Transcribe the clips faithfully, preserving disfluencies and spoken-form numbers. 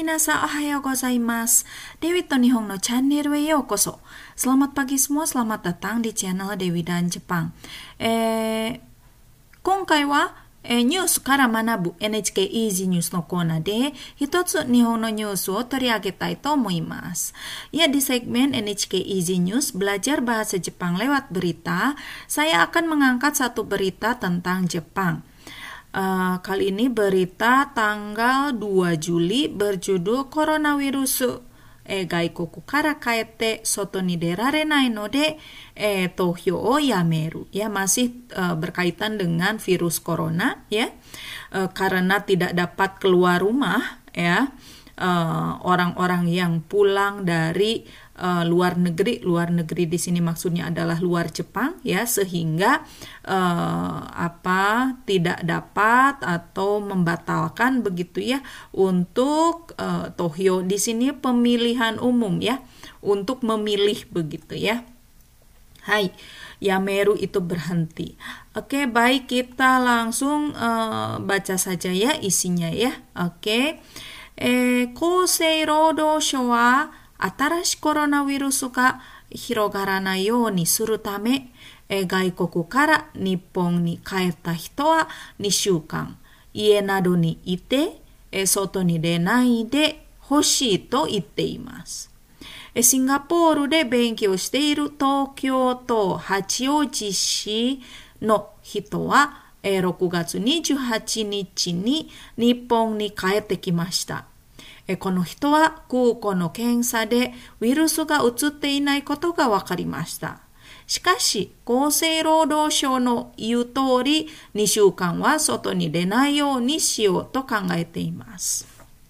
minasan, ohayo gozaimasu. Dewi to Nihon no channel e yokoso. Selamat pagi semua, selamat datang di channel Dewi dan Jepang. Eh, 今回はえー、ニュースから学ぶ エヌエイチケー Easy News のコーナーで一つ日本のニュースを取り上げたいと思います。Ya, di segmen エヌエイチケー Easy News belajar bahasa Jepang lewat berita, saya akan mengangkat satu berita tentang Jepang. Uh, kali ini berita tanggal dua Juli berjudul Coronavirusえー、外国から帰って外に出られないので、えー、投票をやめる. Ya, masih uh, berkaitan dengan virus corona, ya, uh, karena tidak dapat keluar rumah, ya, uh, orang-orang yang pulang dari uh, luar negeri, luar negeri di sini maksudnya adalah luar Jepang, ya, sehingga uh, apa tidak dapat atau membatalkan begitu, ya, untuk uh, tohyo di sini pemilihan umum, ya, untuk memilih begitu, ya. Hai, yameru itu berhenti. Oke, baik, kita langsung uh, baca saja ya isinya, ya. Oke. Eh, 厚生労働省は新しいコロナウイルスが広がらないようにするため、え外国から日本に帰った人はにしゅうかん家などにいて、え外に出ないでほしいと言っています。えシンガポールで勉強している東京都八王子市の人は、えろくがつにじゅうはちにちに日本に帰ってきました。この人は空港の検査でウイルスが移っていないことが分かりました。しかし、厚生労働省の言う通り、にしゅうかんは外に出ないようにしようと考えています。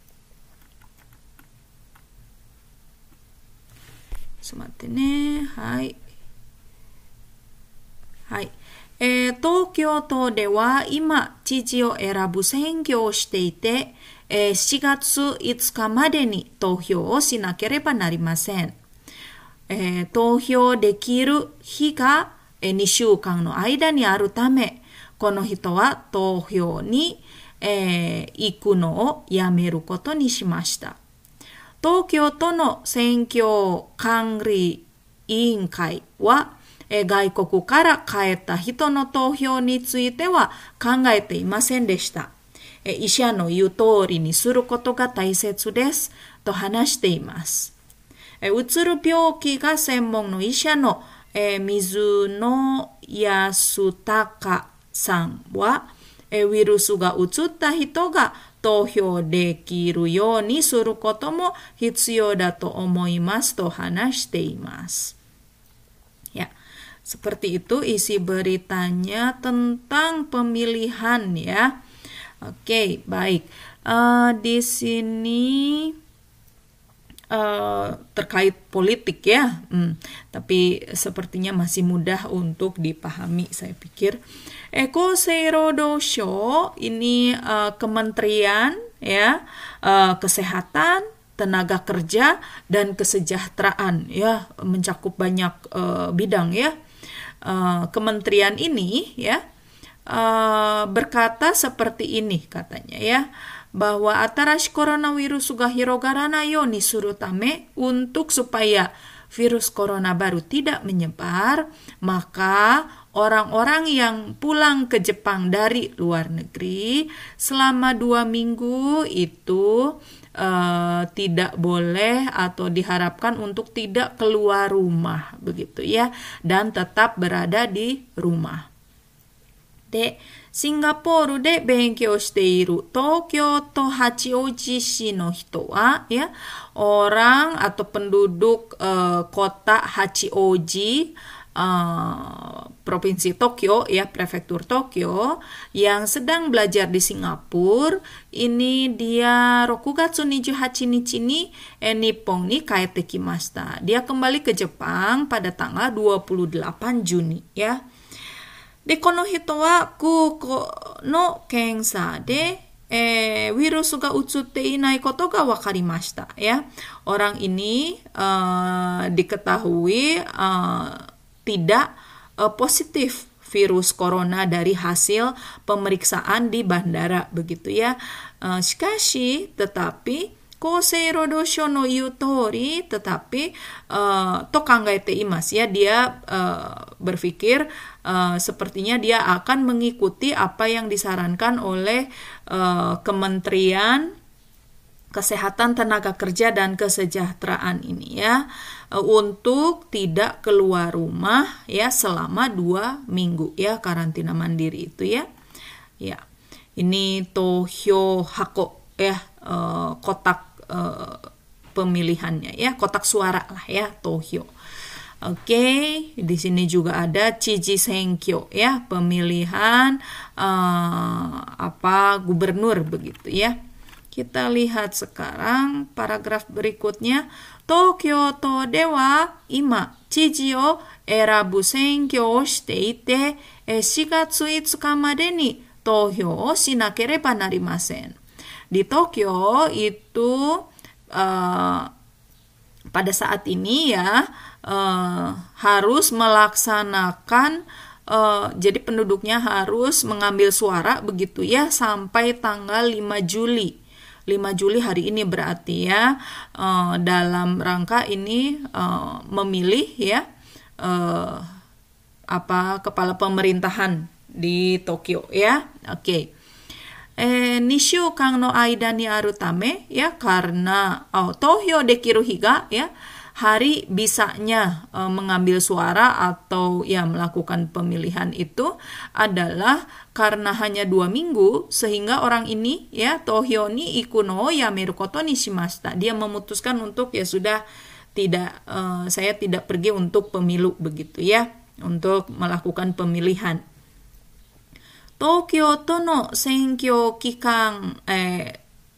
ちょっと待ってね。はい。はい。えー、東京都では今、知事を選ぶ選挙をしていて、えー、しがついつかまでに投票をしなければなりません。えー、投票できる日が、えー、にしゅうかんの間にあるため、この人は投票に、えー、行くのをやめることにしました。東京都の選挙管理委員会は、えー、外国から帰った人の投票については考えていませんでした。えー、医者の言う通りにすることが大切ですと話しています。えー、うつる病気が専門の医者の、えー、水野康隆さんは、えー、ウイルスが移った人が投票できるようにすることも必要だと思いますと話しています。Ya, seperti itu isi beritanya tentang pemilihan, ya. Oke, baik. Uh, di sini uh, terkait politik, ya. Hmm, tapi sepertinya masih mudah untuk dipahami, saya pikir.厚生労働省, ini uh, kementerian, ya, uh, kesehatan, tenaga kerja dan kesejahteraan, ya, mencakup banyak uh, bidang, ya. Uh, kementerian ini, ya, uh, berkata seperti ini katanya, ya, bahwa atarashi koronavirus ga hirogaranai you ni suru tame, untuk supaya virus corona baru tidak menyebar, maka orang-orang yang pulang ke Jepang dari luar negeri selama dua minggu itu uh, tidak boleh atau diharapkan untuk tidak keluar rumah, begitu, ya, dan tetap berada di rumah. De, シンガポールで勉強している東京都八王子市の人は, ya, orang atau penduduk uh, kota Hachioji, uh, provinsi Tokyo, ya, prefektur Tokyo, yang sedang belajar di Singapura, ini dia roku gatsu ni ju hachi nichi ni eh, Nippon ni kaete kimashita. Dia kembali ke Jepang pada tanggal dua puluh delapan Juni, ya. De, この人は空港の検査で、えー、ウイルスが移っていないことが分かりました。Ya, orang ini uh, diketahui uh, tidak uh, positif virus corona dari hasil pemeriksaan di bandara, begitu, ya. Uh, shikashi, tetapi Kousei Rodosho no yutori, tetapi uh, to kangaete imasu ya, dia uh, berpikir uh, sepertinya dia akan mengikuti apa yang disarankan oleh uh, Kementerian Kesehatan Tenaga Kerja dan Kesejahteraan ini ya, uh, untuk tidak keluar rumah ya selama dua minggu ya, karantina mandiri itu ya. Ya, ini tohyo hako ya, uh, kotak Uh, pemilihannya ya, kotak suara lah ya, tohyo. Oke, okay. Di sini juga ada chiji senkyo ya, pemilihan uh, apa gubernur begitu ya. Kita lihat sekarang paragraf berikutnya. Tokyo to de wa ima chiji o erabu senkyo o shite ite shi gatsu itsuka made ni tohyo o shinakereba narimasen. Di Tokyo itu uh, pada saat ini ya uh, harus melaksanakan uh, jadi penduduknya harus mengambil suara begitu ya sampai tanggal lima Juli. lima Juli hari ini berarti ya, uh, dalam rangka ini uh, memilih ya uh, apa kepala pemerintahan di Tokyo ya. Oke. Okay. Eh, nishukan no aida ni aru tame ya, karena oh, tohyo dekiru higa ya, hari bisanya uh, mengambil suara atau ya melakukan pemilihan itu adalah karena hanya dua minggu, sehingga orang ini ya tohyo ni ikuno yameru koto ni shimashita, dia memutuskan untuk ya sudah tidak uh, saya tidak pergi untuk pemilu begitu ya, untuk melakukan pemilihan. Tokyo to no senkyo kikan eh,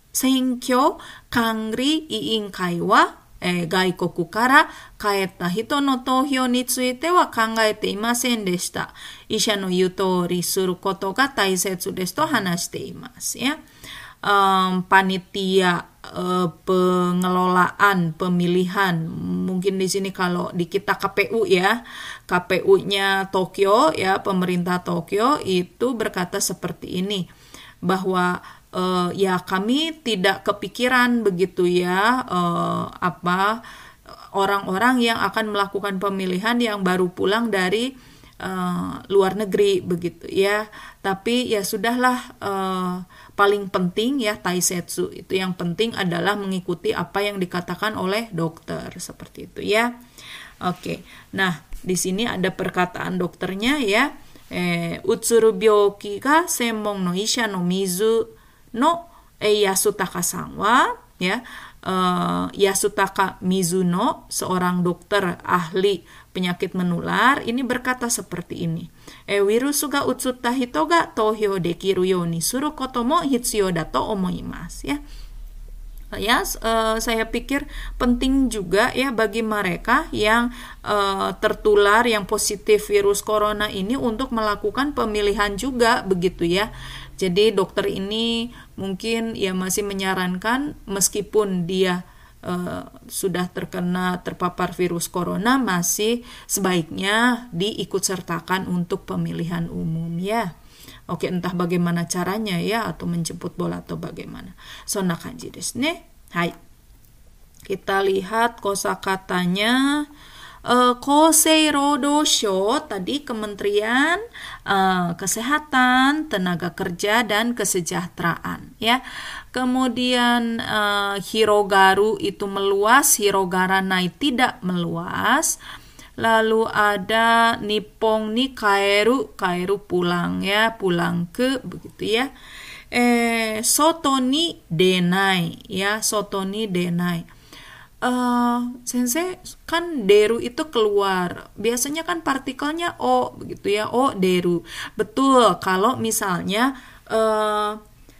senkyo kangri iinkai wa eh, gaikoku kara kaeta hito no tohyo ni tsuite wa kangaete imasen deshita. Isha no iu tori suru koto ga taisetsu desu to hanashite imasu ya. Um, panitia uh, pengelolaan pemilihan, mungkin di sini kalau di kita K P U ya, K P U-nya Tokyo ya, pemerintah Tokyo itu berkata seperti ini, bahwa uh, ya kami tidak kepikiran begitu ya uh, apa orang-orang yang akan melakukan pemilihan yang baru pulang dari uh, luar negeri begitu ya, tapi ya sudahlah, uh, paling penting ya taisetsu itu, yang penting adalah mengikuti apa yang dikatakan oleh dokter seperti itu ya. Oke, nah di sini ada perkataan dokternya ya, eh, utsuru byoki ga senmon no isha no mizu no eh, Yasutaka-san wa ya, uh, Yasutaka Mizuno, seorang dokter ahli penyakit menular, ini berkata seperti ini. E wirusu ga utsutta hito ga tohyo dekiru you ni suru koto mo hitsuyou da to omoimasu ya. Ya, uh, saya pikir penting juga ya bagi mereka yang uh, tertular, yang positif virus corona ini untuk melakukan pemilihan juga begitu ya. Jadi dokter ini mungkin ya masih menyarankan meskipun dia Uh, sudah terkena terpapar virus corona, masih sebaiknya diikut sertakan untuk pemilihan umum ya. Oke, entah bagaimana caranya ya, atau menjemput bola atau bagaimana. Sonna kanji desu ne. Hai. Kita lihat kosakatanya. Uh, Kousei Rodosho tadi Kementerian uh, Kesehatan, Tenaga Kerja dan Kesejahteraan ya. Kemudian uh, hirogaru itu meluas, hirogaranai tidak meluas. Lalu ada nippon ni kaeru, kaeru pulang ya, pulang ke begitu ya. Eh soto ni denai ya, soto ni denai. Uh, sensei kan deru itu keluar, biasanya kan partikelnya o begitu ya, o deru. Betul, kalau misalnya uh,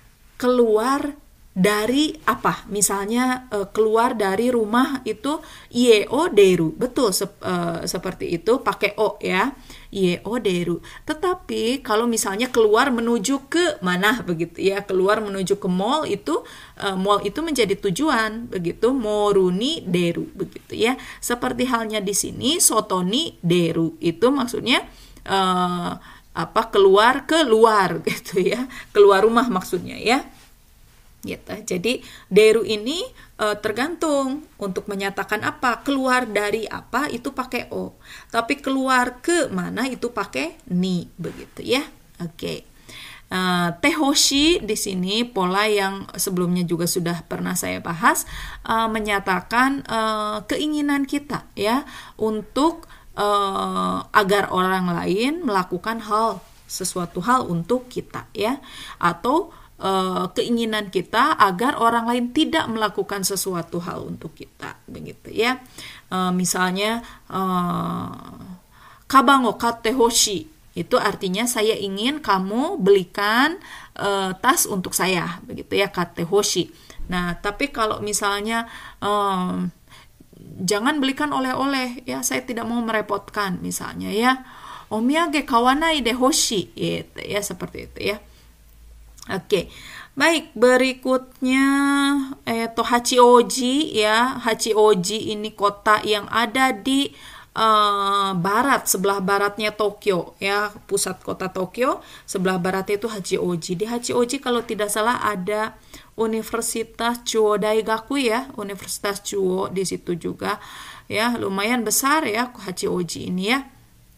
keluar dari apa, misalnya uh, keluar dari rumah itu ie o deru, betul sep, uh, seperti itu pakai o ya, ie o deru. Tetapi kalau misalnya keluar menuju ke mana begitu ya, keluar menuju ke mall itu uh, mall itu menjadi tujuan begitu, moru ni deru begitu ya. Seperti halnya di sini soto ni deru itu maksudnya uh, apa, keluar ke luar gitu ya, keluar rumah maksudnya ya. gitu. Jadi deru ini uh, tergantung untuk menyatakan apa, keluar dari apa itu pakai o, tapi keluar ke mana itu pakai ni, begitu ya. Oke. Okay. Uh, tehoshi di sini pola yang sebelumnya juga sudah pernah saya bahas, uh, menyatakan uh, keinginan kita ya untuk uh, agar orang lain melakukan hal sesuatu hal untuk kita ya, atau uh, keinginan kita agar orang lain tidak melakukan sesuatu hal untuk kita, begitu ya. Uh, misalnya uh, kabang o katte hoshi, itu artinya saya ingin kamu belikan uh, tas untuk saya, begitu ya, katte hoshi. Nah, tapi kalau misalnya um, jangan belikan oleh-oleh ya, saya tidak mau merepotkan misalnya ya. Omiyage kawanai de hoshi, gitu ya, seperti itu ya. Oke. Baik, berikutnya eh to Hachioji ya. Hachioji ini kota yang ada di Uh, barat, sebelah baratnya Tokyo ya, pusat kota Tokyo, sebelah baratnya itu Hachioji. Di Hachioji kalau tidak salah ada Universitas Chuo Daigaku ya, Universitas Chuo di situ juga ya, lumayan besar ya Hachioji ini ya.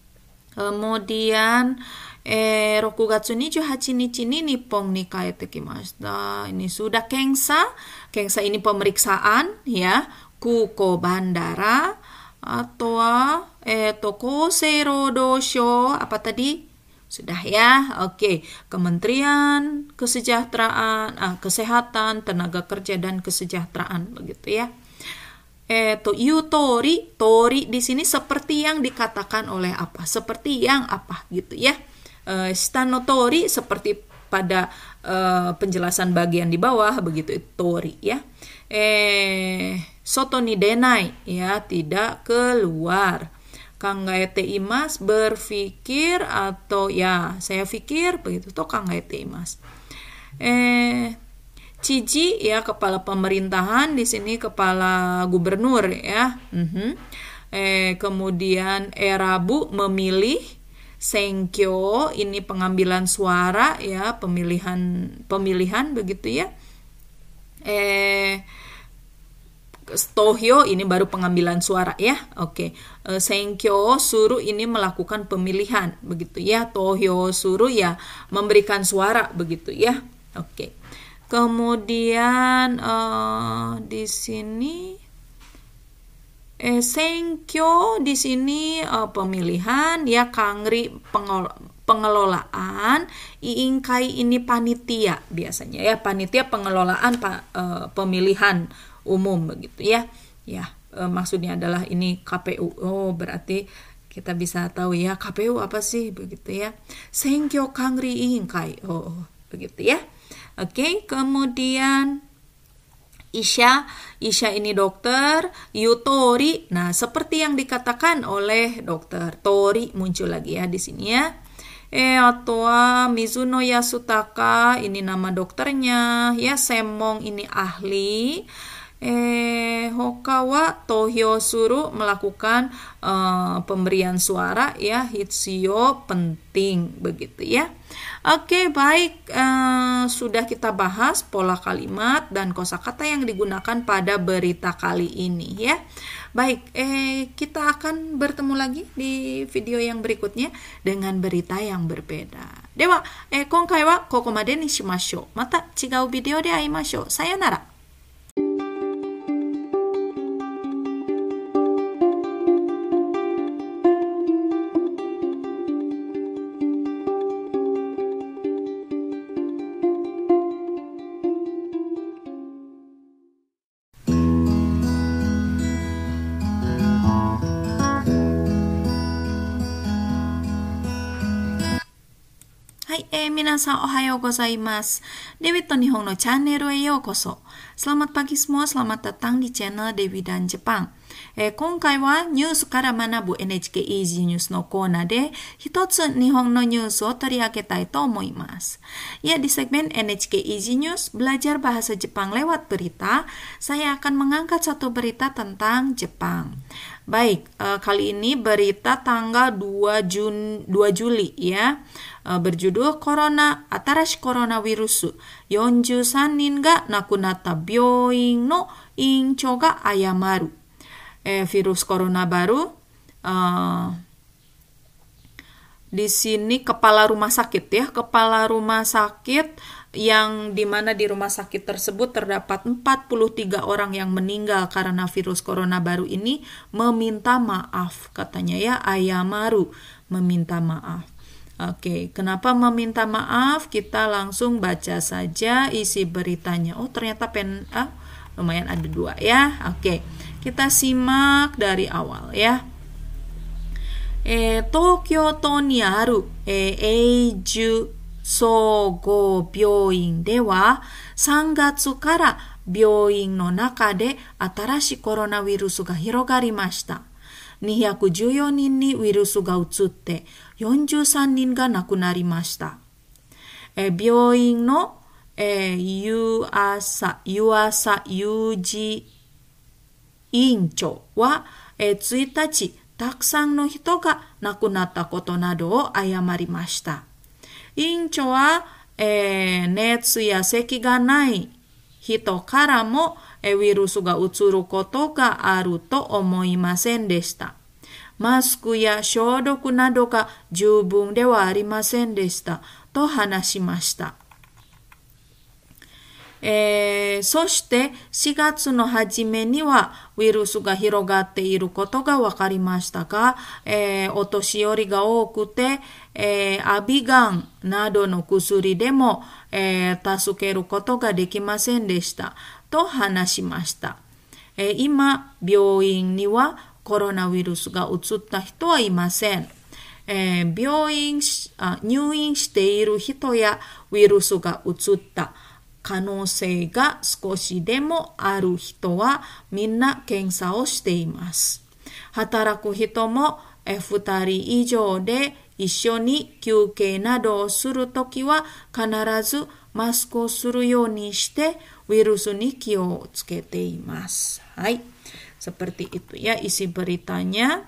Kemudian eh rokugatsu nijūhachi nichi ni Nippon ni kaete kimashita. Ini sudah Kensa. Kensa ini pemeriksaan ya, Kuko bandara, atau eh to Kousei Roudou Shou, apa tadi? Sudah ya. Oke, Kementerian Kesejahteraan, ah, Kesehatan, Tenaga Kerja dan Kesejahteraan, begitu ya. Eh to yutori, tori di sini seperti yang dikatakan oleh apa? Seperti yang apa gitu ya. Eh stano tori seperti pada eh, penjelasan bagian di bawah, begitu tori ya. Eh soto ni denai ya, tidak keluar. Kangaete imas, berpikir atau ya saya pikir, begitu toh kangaete imas. Eh Chiji ya, kepala pemerintahan, di sini kepala gubernur ya. Mm-hmm. Eh kemudian erabu, memilih. Senkyo ini pengambilan suara ya, pemilihan pemilihan begitu ya. Eh Tohyo ini baru pengambilan suara ya. Oke. Okay. Senkyo suruh ini melakukan pemilihan, begitu ya. Tohyo suruh ya memberikan suara, begitu ya. Oke. Okay. Kemudian uh, di sini eh senkyo di sini uh, pemilihan ya, kangri pengol pengelolaan, iingkai ini panitia biasanya ya, panitia pengelolaan pa, uh, pemilihan umum, begitu ya. Ya, e, maksudnya adalah ini K P U. Oh, berarti kita bisa tahu ya K P U apa sih, begitu ya. Senkyo kangri iingkai. Oh, begitu ya. Oke, kemudian Isha, Isha ini dokter, yutori. Nah, seperti yang dikatakan oleh dokter, tori muncul lagi ya di sini ya. Eh, atau Mizuno Yasutaka, ini nama dokternya ya. Semong ini ahli. Eh, Hokawa Tohyo suru, melakukan uh, pemberian suara ya. Hitsio penting, begitu ya. Oke, baik, uh, sudah kita bahas pola kalimat dan kosakata yang digunakan pada berita kali ini ya. Baik, eh kita akan bertemu lagi di video yang berikutnya dengan berita yang berbeda. Dewa, eh konkai wa kokomade ni shimashou. Mata chigau video de aimashou. Sayonara. はい、えー、皆さんおはようございます。Dewi to Nihon no channelへようこそ。Selamat pagi semua, selamat datang di channel Dewi dan Jepang。えー、今回はニュースから学ぶ エヌエイチケー イージー ニュースのコーナーで一つ日本のニュースを取り上げたいと思います。Ya, di segmen エヌエイチケー Easy News belajar bahasa Jepang lewat berita, saya akan mengangkat satu berita tentang Jepang. Baik, uh, kali ini berita tanggal dua Juli ya. Uh, berjudul Corona Atarashi Coronavirusよんじゅうさんにんが亡くなった病院の院長が謝る。Eh, virus corona baru. Uh, di sini kepala rumah sakit ya, kepala rumah sakit yang dimana di rumah sakit tersebut terdapat empat puluh tiga orang yang meninggal karena virus corona baru ini meminta maaf, katanya ya, ayamaru, meminta maaf. Oke, kenapa meminta maaf? Kita langsung baca saja isi beritanya. Oh, ternyata pen ah, lumayan ada dua ya. Oke, kita simak dari awal ya. Eh, Tokyo to ni aru eh, Eiju 総合病院ではさんがつから病院の中で新しいコロナウイルスが広がりました。にひゃくじゅうよにんにウイルスが移ってよんじゅうさんにんが亡くなりました。え病院の、えー、湯浅、湯浅裕二委員長は、えー、ついたちたくさんの人が亡くなったことなどを謝りました。委員長は、えー、熱や咳がない人からも、えー、ウイルスが移ることがあると思いませんでした。マスクや消毒などが十分ではありませんでしたと話しました。えー、そしてしがつの初めにはウイルスが広がっていることが分かりましたが、えー、お年寄りが多くて、えー、アビガンなどの薬でも、えー、助けることができませんでしたと話しました。えー、今、病院にはコロナウイルスが移った人はいません。えー、病院あ、入院している人やウイルスが移った可能性が少しでもある人はみんな検査をしています。働く人もふたり以上で一緒に休憩などをするときは必ずマスクをするようにしてウイルスに気をつけています。はい、seperti itu ya isi beritanya.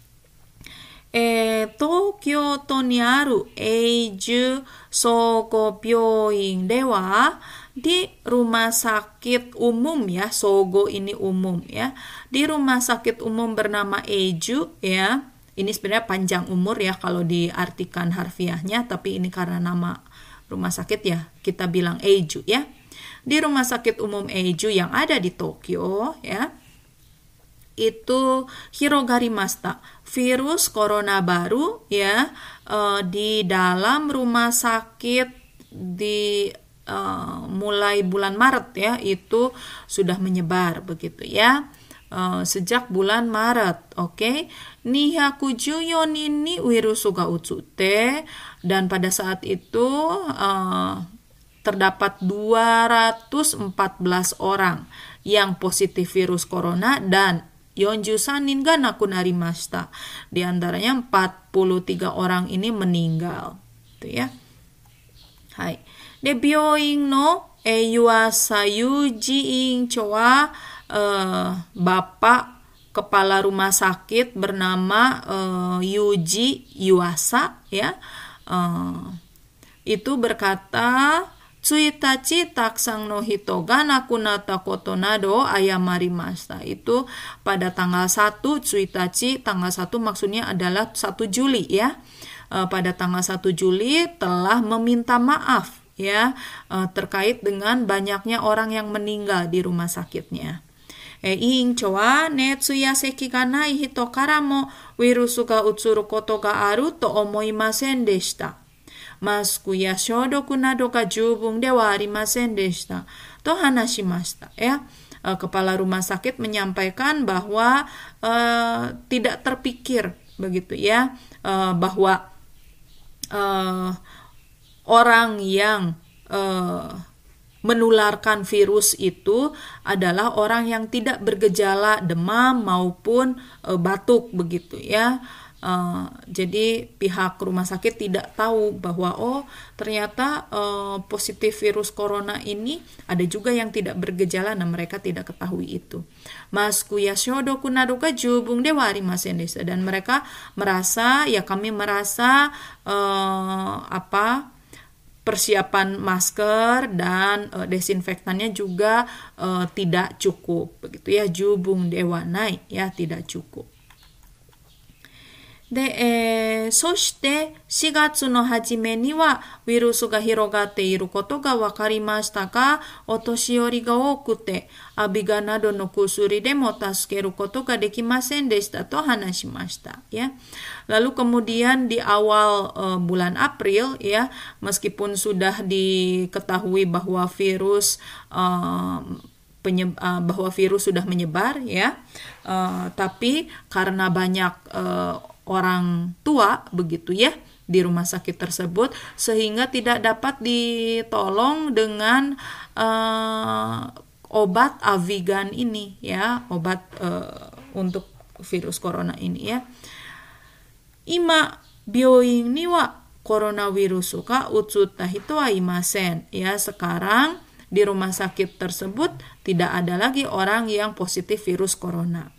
えー、東京都にある永住総合病院では di rumah sakit umum ya, Sogo ini umum ya, di rumah sakit umum bernama Eiju ya, ini sebenarnya panjang umur ya kalau diartikan harfiahnya, tapi ini karena nama rumah sakit ya kita bilang Eiju ya. Di rumah sakit umum Eiju yang ada di Tokyo ya, itu hirogarimashita, virus corona baru ya, uh, di dalam rumah sakit di uh, mulai bulan Maret ya, itu sudah menyebar begitu ya, uh, sejak bulan Maret. Oke, okay? ni hyaku juyo ni wirusu ga utsute, dan pada saat itu uh, terdapat dua ratus empat belas orang yang positif virus corona danよんじゅうさんにんが亡くなりました。Di antaranya empat puluh tiga orang ini meninggal. Itu ya. Hai. De 病院の湯浅裕二院長は、uh, Bapak kepala rumah sakit bernama uh, Yuji Yuasa ya. Uh, itu berkata, Tsuitachi taksang no hito ga nakunata koto nado ayamarimashita. Itu pada tanggal satu Tsuitachi, tanggal satu maksudnya adalah satu Juli ya. E, pada tanggal satu Juli telah meminta maaf ya, e, terkait dengan banyaknya orang yang meninggal di rumah sakitnya. E, Iincho wa netsu ya seki ga nai hito kara mo wirusu ga utsuru koto ga aru to omoimasen deshita. Masku ya shodoku nado ga jubung de wa arimasen deshita to hanashimashita ya. E, kepala rumah sakit menyampaikan bahwa e, tidak terpikir begitu ya, e, bahwa e, orang yang e, menularkan virus itu adalah orang yang tidak bergejala demam maupun e, batuk begitu ya. Uh, jadi pihak rumah sakit tidak tahu bahwa oh ternyata uh, positif virus corona ini ada juga yang tidak bergejala, nah mereka tidak ketahui itu. Masku ya shodoku nadoka jubung dewa arimasen desa, dan mereka merasa ya kami merasa uh, apa persiapan masker dan uh, desinfektannya juga uh, tidak cukup begitu ya, jubung dewa naik ya tidak cukup. で、えー、そしてしがつの初めにはウイルスが広がっていることが分かりましたが、お年寄りが多くて、アビガなどの薬でも助けることができませんでしたと話しました。Ya. Lalu kemudian di awal uh, bulan April, ya, meskipun sudah diketahui bahwa virus uh, Penyeb- uh, bahwa virus sudah menyebar ya, uh, tapi karena banyak uh, orang tua begitu ya di rumah sakit tersebut sehingga tidak dapat ditolong dengan uh, obat Avigan ini ya, obat uh, untuk virus corona ini ya. Ima byoin ni wa coronavirus ka utsutta hito wa imasen ya, sekarang di rumah sakit tersebut tidak ada lagi orang yang positif virus corona.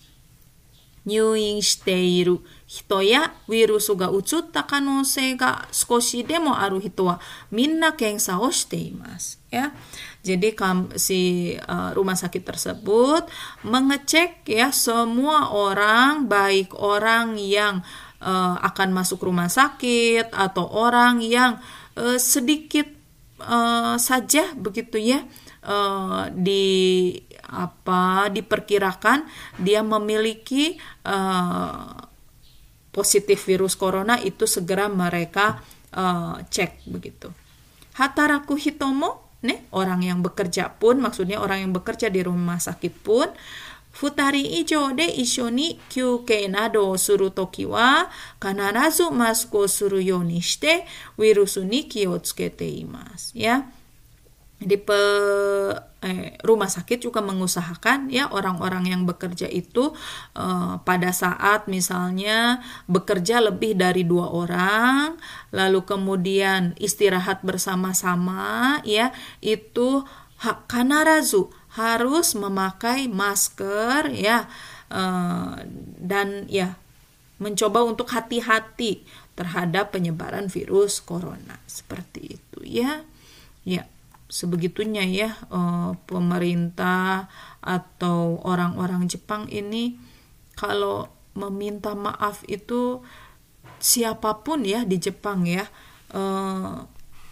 Nyuin shiteiru hito ya virusu ga utsutta kanosei ga skoshi demo aru hito wa minna kensa o shiteimasu ya. Jadi si uh, rumah sakit tersebut mengecek ya semua orang, baik orang yang uh, akan masuk rumah sakit atau orang yang uh, sedikit Uh, saja begitu ya uh, di apa diperkirakan dia memiliki uh, positif virus corona, itu segera mereka uh, cek begitu. Hataraku hitomo nih, orang yang bekerja pun, maksudnya orang yang bekerja di rumah sakit pun, futari ijo de isho ni kyukei nado suru toki wa kanarazu masku suru yo ni shite virusu ni ki o tsukete imasu ya. Di pe, eh, rumah sakit juga mengusahakan ya orang-orang yang bekerja itu eh, pada saat misalnya bekerja lebih dari dua orang lalu kemudian istirahat bersama-sama ya, itu ha, kanarazu harus memakai masker ya, uh, dan ya mencoba untuk hati-hati terhadap penyebaran virus corona seperti itu ya. Ya, sebegitunya ya uh, pemerintah atau orang-orang Jepang ini kalau meminta maaf itu siapapun ya di Jepang ya, uh,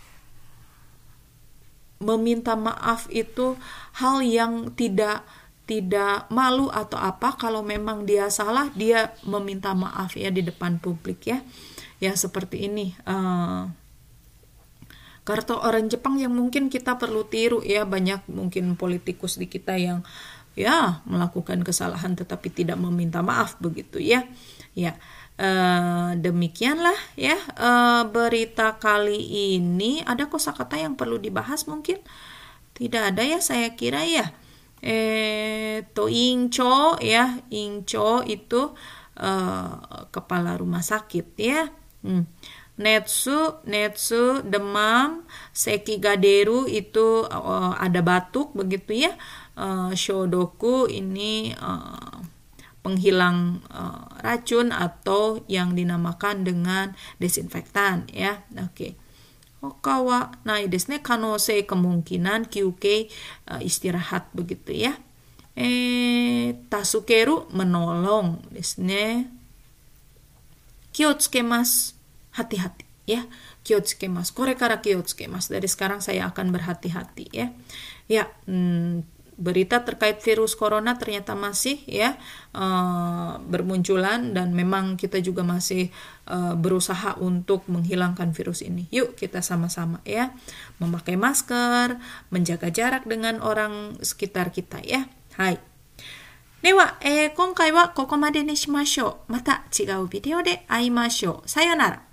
meminta maaf itu hal yang tidak tidak malu atau apa. Kalau memang dia salah, dia meminta maaf ya di depan publik ya, ya seperti ini. Uh, karena orang Jepang yang mungkin kita perlu tiru ya, banyak mungkin politikus di kita yang ya melakukan kesalahan tetapi tidak meminta maaf begitu ya, ya. Uh, demikianlah ya uh, berita kali ini. Ada kosakata yang perlu dibahas mungkin? Tidak ada ya, saya kira ya. Eh, to incho ya, incho itu uh, kepala rumah sakit ya. Hmm. Netsu, netsu demam, seki gaderu itu uh, ada batuk begitu ya. Uh, shodoku ini uh, penghilang uh, racun atau yang dinamakan dengan desinfektan ya. Oke. Okay. Hoka wa nai desu ne, kanosei kemungkinan kyukei uh, istirahat begitu ya. Eh tasukeru menolong desu ne. Kiyotsukemas, hati-hati ya. Kiyotsukemas, kore kara kiyotsukemas, dari sekarang saya akan berhati-hati ya. Ya, hmm, berita terkait virus corona ternyata masih ya uh, bermunculan dan memang kita juga masih uh, berusaha untuk menghilangkan virus ini. Yuk kita sama-sama ya memakai masker, menjaga jarak dengan orang sekitar kita ya. Hai. Dewa, eh, 今回はここまでにしましょう。また違うビデオで会いましょう。さよなら。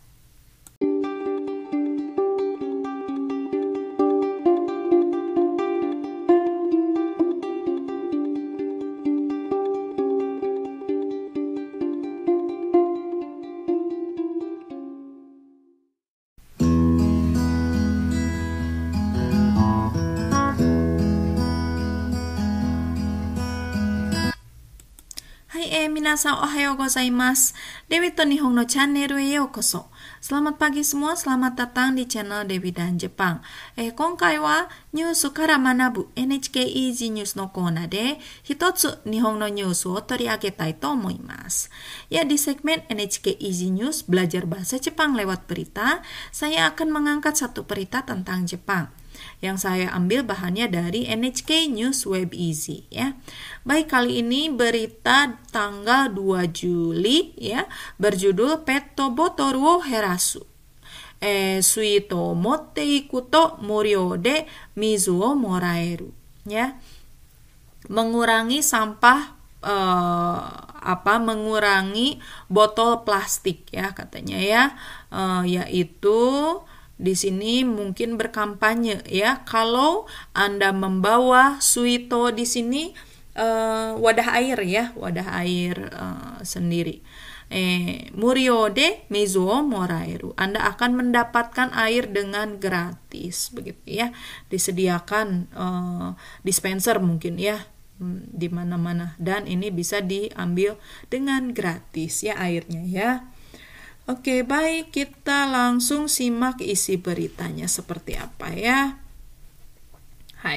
minasan ohayo gozaimasu. Dewi to Nihon no channel e yokoso. Selamat pagi semua, selamat datang di channel Dewi dan Jepang. Eh, 今回はニュースから学ぶ エヌエイチケー Easy News のコーナーで一つ日本のニュースを取り上げたいと思います。Ya, di segmen エヌエイチケー Easy News belajar bahasa Jepang lewat berita, saya akan mengangkat satu berita tentang Jepang. Yang saya ambil bahannya dari エヌエイチケー News Web Easy ya. Baik, kali ini berita tanggal dua Juli ya, berjudul Petto botoru wo herasu. Eh, sui to motte iku to muryou de mizu wo moraeru ya. Mengurangi sampah eh, apa mengurangi botol plastik ya katanya ya. Eh, yaitu di sini mungkin berkampanye ya, kalau Anda membawa suito di sini uh, wadah air ya, wadah air uh, sendiri. Eh, muryou de mizu wo moraeru. Anda akan mendapatkan air dengan gratis begitu ya. Disediakan uh, dispenser mungkin ya di mana-mana, dan ini bisa diambil dengan gratis ya airnya ya. Oke, baik, kita langsung simak isi beritanya seperti apa ya. Hai.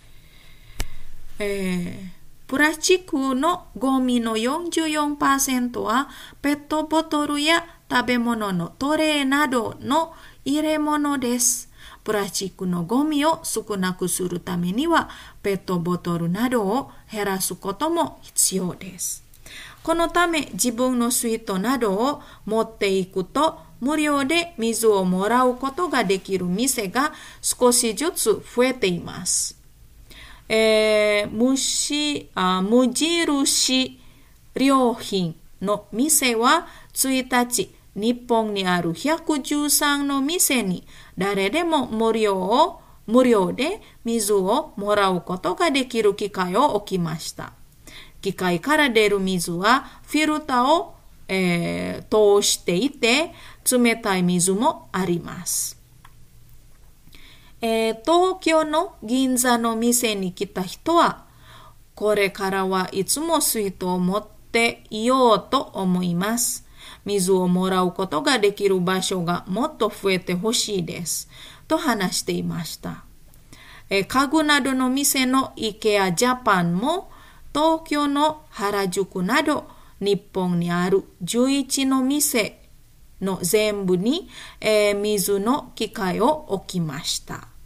Eh, Purachiku no gomi noよんじゅうよんパーセント はペットボトルや食べ物のトレーなどの入れ物です。プラスチックのゴミを少なくするためにはペットボトルなどを減らすことも必要です。このため自分の水筒などを持っていくと無料で水をもらうことができる店が少しずつ増えています。えー、無しあ無印良品の店はいちにち日本にあるひゃくじゅうさんの店に誰でも無料を無料で水をもらうことができる機会を置きました。機械から出る水はフィルターを、えー、通していて冷たい水もあります。えー、東京の銀座の店に来た人はこれからはいつも水筒を持っていようと思います。水をもらうことができる場所がもっと増えてほしいですと話していました。えー、家具などの店の IKEA ジャパンも東京の原宿など日本にあるじゅういちの店の全部に、えー、水の機械を置きました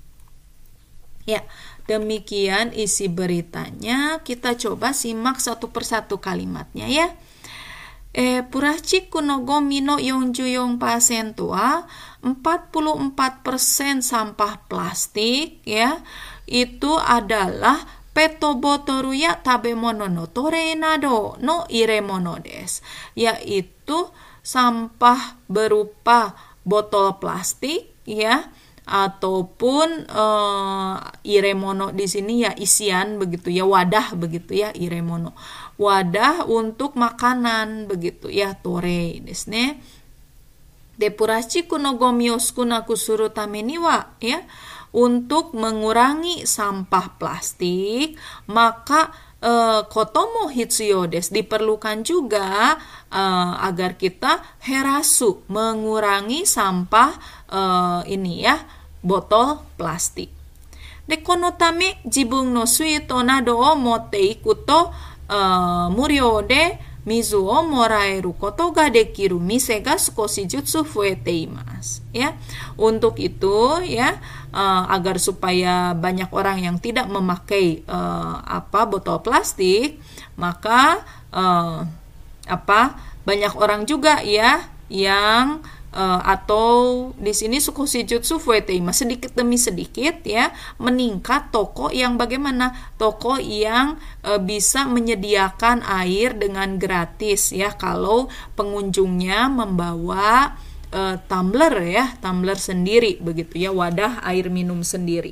。Ya, demikian isi beritanya. Kita coba simak satu persatu kalimatnya ya. Eh, purachiku no gomi noよんじゅうよんパーセント はempat puluh empat persen sampah plastik ya. Itu adalah Petto botoru ya tabemono no tore nado no iremono desu. Yaitu sampah berupa botol plastik ya, ataupun uh, iremono di sini ya isian begitu ya, wadah begitu ya, iremono. Wadah untuk makanan begitu ya, tore desu ne. De purachiku no gomi o sukunaku suru tame ni wa ya, untuk mengurangi sampah plastik, maka uh, kotomo hitsuyo desu, diperlukan juga uh, agar kita herasu, mengurangi sampah uh, ini ya, botol plastik. De kono tame jibun no suito nado o motte iku to uh, muryou de mizu o moraeru koto ga dekiru mise ga sukoshi jutsu fuete imasu ya. Untuk itu ya, uh, agar supaya banyak orang yang tidak memakai uh, apa botol plastik, maka uh, apa banyak orang juga ya yang uh, atau di sini sukoshi jutsu fuete imasu, sedikit demi sedikit ya meningkat toko yang bagaimana, toko yang uh, bisa menyediakan air dengan gratis ya, kalau pengunjungnya membawa uh, tumbler ya, tumbler sendiri begitu ya, wadah air minum sendiri.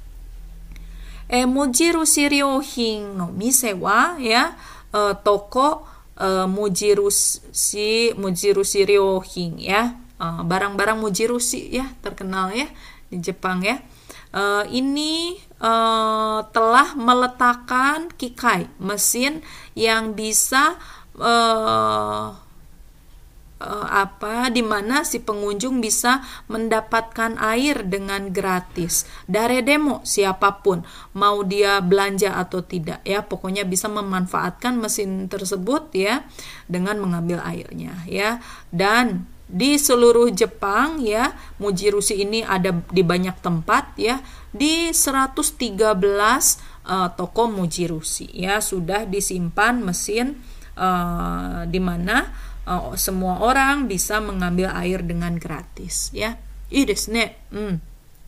Eh, mujirushi ryouhin no mise wa ya, uh, toko uh, mujirushi mujirushi ryouhin ya, uh, barang-barang mujirushi ya, terkenal ya di Jepang ya. Uh, ini uh, telah meletakkan kikai, mesin yang bisa uh, uh, apa di mana si pengunjung bisa mendapatkan air dengan gratis. Dari demo siapapun mau dia belanja atau tidak ya, pokoknya bisa memanfaatkan mesin tersebut ya dengan mengambil airnya ya. Dan di seluruh Jepang ya, Mujirushi ini ada di banyak tempat ya, di seratus tiga belas uh, toko Mujirushi ya sudah disimpan mesin uh, di mana uh, semua orang bisa mengambil air dengan gratis ya. Ii desu ne. Hmm.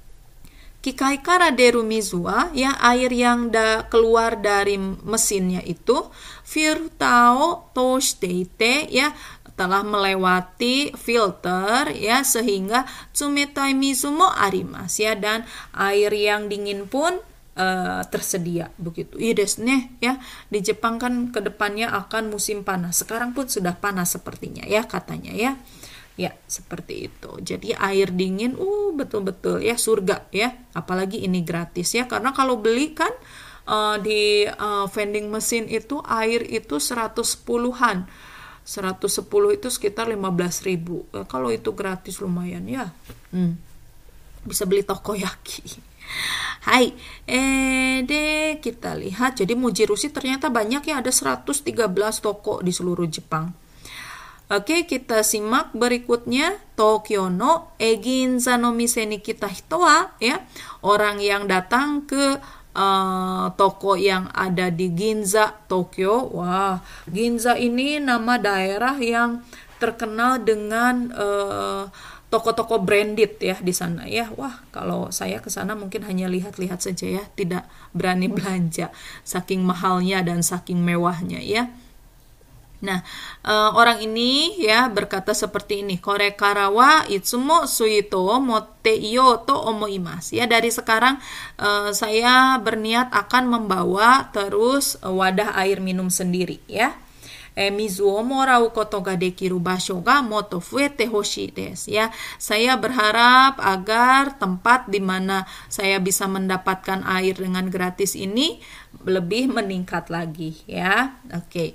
Kikai kara deru mizu wa ya, air yang da keluar dari mesinnya itu filter o toushite ite ya, telah melewati filter ya, sehingga tsumetai mizu mo arimasu ya, dan air yang dingin pun uh, tersedia begitu. Iya desu ne ya. Di Jepang kan kedepannya akan musim panas. Sekarang pun sudah panas sepertinya ya katanya ya. Ya, seperti itu. Jadi air dingin uh betul-betul ya surga ya. Apalagi ini gratis ya, karena kalau beli kan uh, di uh, vending mesin itu air itu seratus sepuluhan. seratus sepuluh itu sekitar lima belas ribu. Eh, kalau itu gratis lumayan ya. Hmm. Bisa beli takoyaki. Hai, eh deh kita lihat. Jadi Mujirushi ternyata banyak ya, ada seratus tiga belas toko di seluruh Jepang. Oke, kita simak berikutnya. Tokyo no Ginza no mise ni kita hito wa ya, orang yang datang ke Uh, toko yang ada di Ginza, Tokyo. Wah, Ginza ini nama daerah yang terkenal dengan uh, toko-toko branded ya di sana ya. Wah, kalau saya ke sana mungkin hanya lihat-lihat saja ya, tidak berani belanja saking mahalnya dan saking mewahnya ya. Nah, uh, orang ini ya berkata seperti ini. Kore kara wa itsumo suito motte iyo to omoimasu. Ya, dari sekarang uh, saya berniat akan membawa terus uh, wadah air minum sendiri ya. E, mizu o morau koto ga dekiru basho ga moto fuete hoshii desu ya. Saya berharap agar tempat di mana saya bisa mendapatkan air dengan gratis ini lebih meningkat lagi ya. Oke. Okay.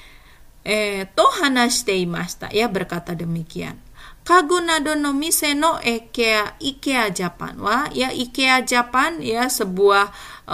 Eh, to hanashite imashita ya, berkata demikian. Kagu nado no mise no IKEA IKEA Japan wa ya, IKEA Japan ya sebuah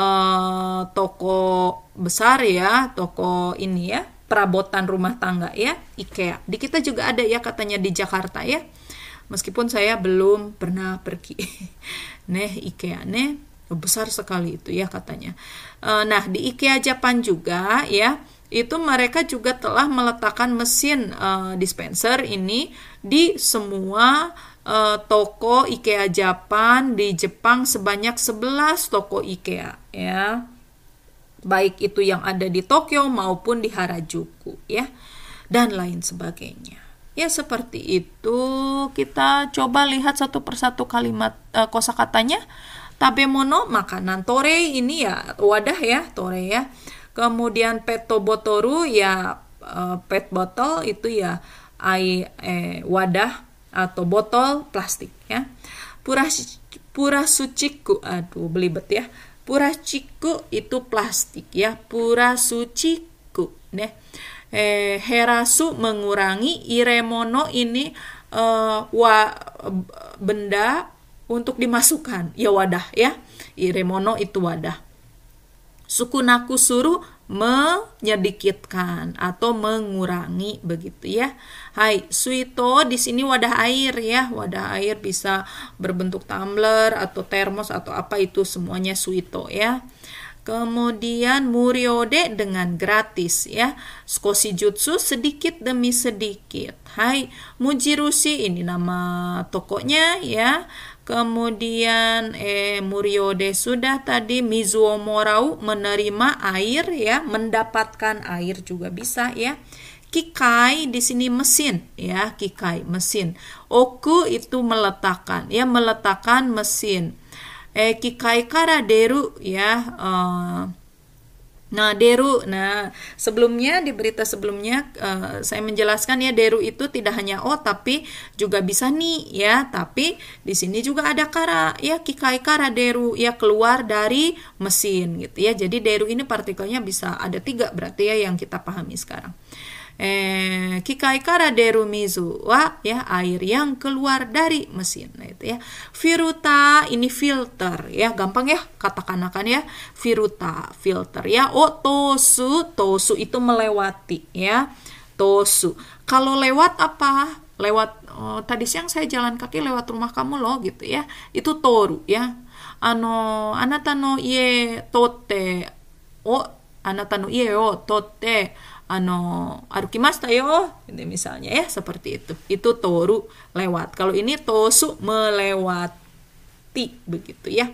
uh, toko besar ya, toko ini ya, perabotan rumah tangga ya, IKEA. Di kita juga ada ya katanya di Jakarta ya. Meskipun saya belum pernah pergi. Neh IKEA neh besar sekali itu ya katanya. Uh, nah, di IKEA Japan juga ya, itu mereka juga telah meletakkan mesin uh, dispenser ini di semua uh, toko IKEA Japan di Jepang, sebanyak sebelas toko IKEA ya. Baik itu yang ada di Tokyo maupun di Harajuku ya, dan lain sebagainya. Ya, seperti itu. Kita coba lihat satu persatu kalimat uh, kosakatanya. Tabemono, makanan. Tore ini ya wadah ya, tore ya. Kemudian petobotoru ya, uh, pet botol itu ya air eh, wadah atau botol plastik ya. Puras purasuchiku, aduh belibet ya. Purasuchiku itu plastik ya. Purasuchiku nih. Eh, herasu mengurangi, iremono ini uh, wa benda untuk dimasukkan ya, wadah ya. Iremono itu wadah. Sukunaku suruh menyedikitkan atau mengurangi begitu ya. Hai, suito di sini wadah air ya. Wadah air bisa berbentuk tumbler atau termos atau apa, itu semuanya suito ya. Kemudian muriode dengan gratis ya. Skoshi jutsu sedikit demi sedikit. Hai, Mujirushi ini nama tokonya ya. Kemudian eh muriode sudah tadi. Mizuo morau menerima air ya, mendapatkan air juga bisa ya. Kikai di sini mesin ya, kikai mesin. Oku itu meletakkan ya, meletakkan mesin. Eh kikai kara deru ya. Uh, Nah, deru. Nah, sebelumnya di berita sebelumnya uh, saya menjelaskan ya, deru itu tidak hanya o tapi juga bisa ni ya. Tapi di sini juga ada kara ya, kikai kara deru ya, keluar dari mesin gitu ya. Jadi deru ini partikelnya bisa ada tiga berarti ya yang kita pahami sekarang. eh, kikai kara deru mizu wa ya air yang keluar dari mesin. Nah, itu ya. Firuta ini filter ya, gampang ya katakan ya. Firuta filter ya. O tosu, tosu itu melewati ya. Tosu. Kalau lewat apa? Lewat oh, tadi siang saya jalan kaki lewat rumah kamu loh gitu ya. Itu toru ya. Ano anata no ie totte o anata no ie o totte ano arukimashita yo. Ini misalnya ya seperti itu. Itu toru lewat. Kalau ini tosu melewati begitu ya.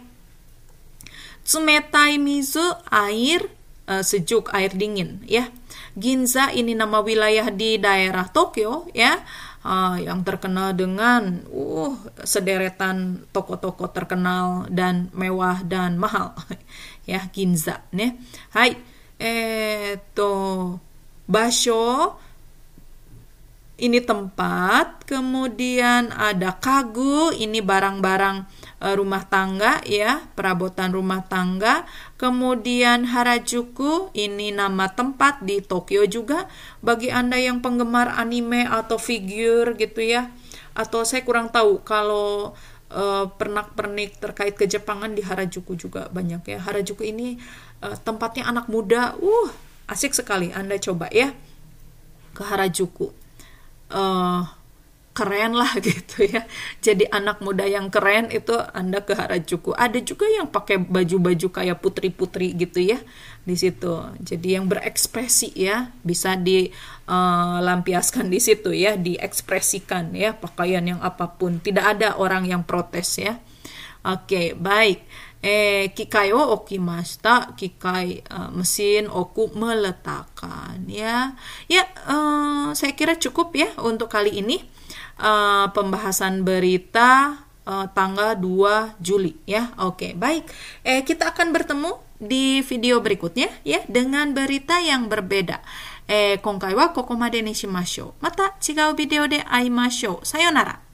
Tsumetai mizu air uh, sejuk, air dingin ya. Ginza ini nama wilayah di daerah Tokyo ya. Uh, yang terkenal dengan uh sederetan toko-toko terkenal dan mewah dan mahal ya, Ginza ne. Hai, eto basho ini tempat, kemudian ada kagu ini barang-barang uh, rumah tangga ya, perabotan rumah tangga. Kemudian Harajuku ini nama tempat di Tokyo juga. Bagi Anda yang penggemar anime atau figur gitu ya, atau saya kurang tahu kalau uh, pernak-pernik terkait kejepangan di Harajuku juga banyak ya. Harajuku ini uh, tempatnya anak muda, uh asik sekali. Anda coba ya ke Harajuku. Uh, keren lah gitu ya. Jadi anak muda yang keren itu Anda ke Harajuku. Ada juga yang pakai baju-baju kayak putri-putri gitu ya di situ. Jadi yang berekspresi ya, bisa dilampiaskan uh, di situ ya, diekspresikan ya, pakaian yang apapun. Tidak ada orang yang protes ya. Oke, okay, baik. Eh, kikai wo okimashita, kikai uh, mesin oku meletakkan ya. Ya, uh, saya kira cukup ya untuk kali ini uh, pembahasan berita uh, tanggal dua Juli ya. Oke, okay, baik. Eh, kita akan bertemu di video berikutnya ya dengan berita yang berbeda. Eh, 今回はここまでにしましょう。また違うビデオで会いましょう。さよなら。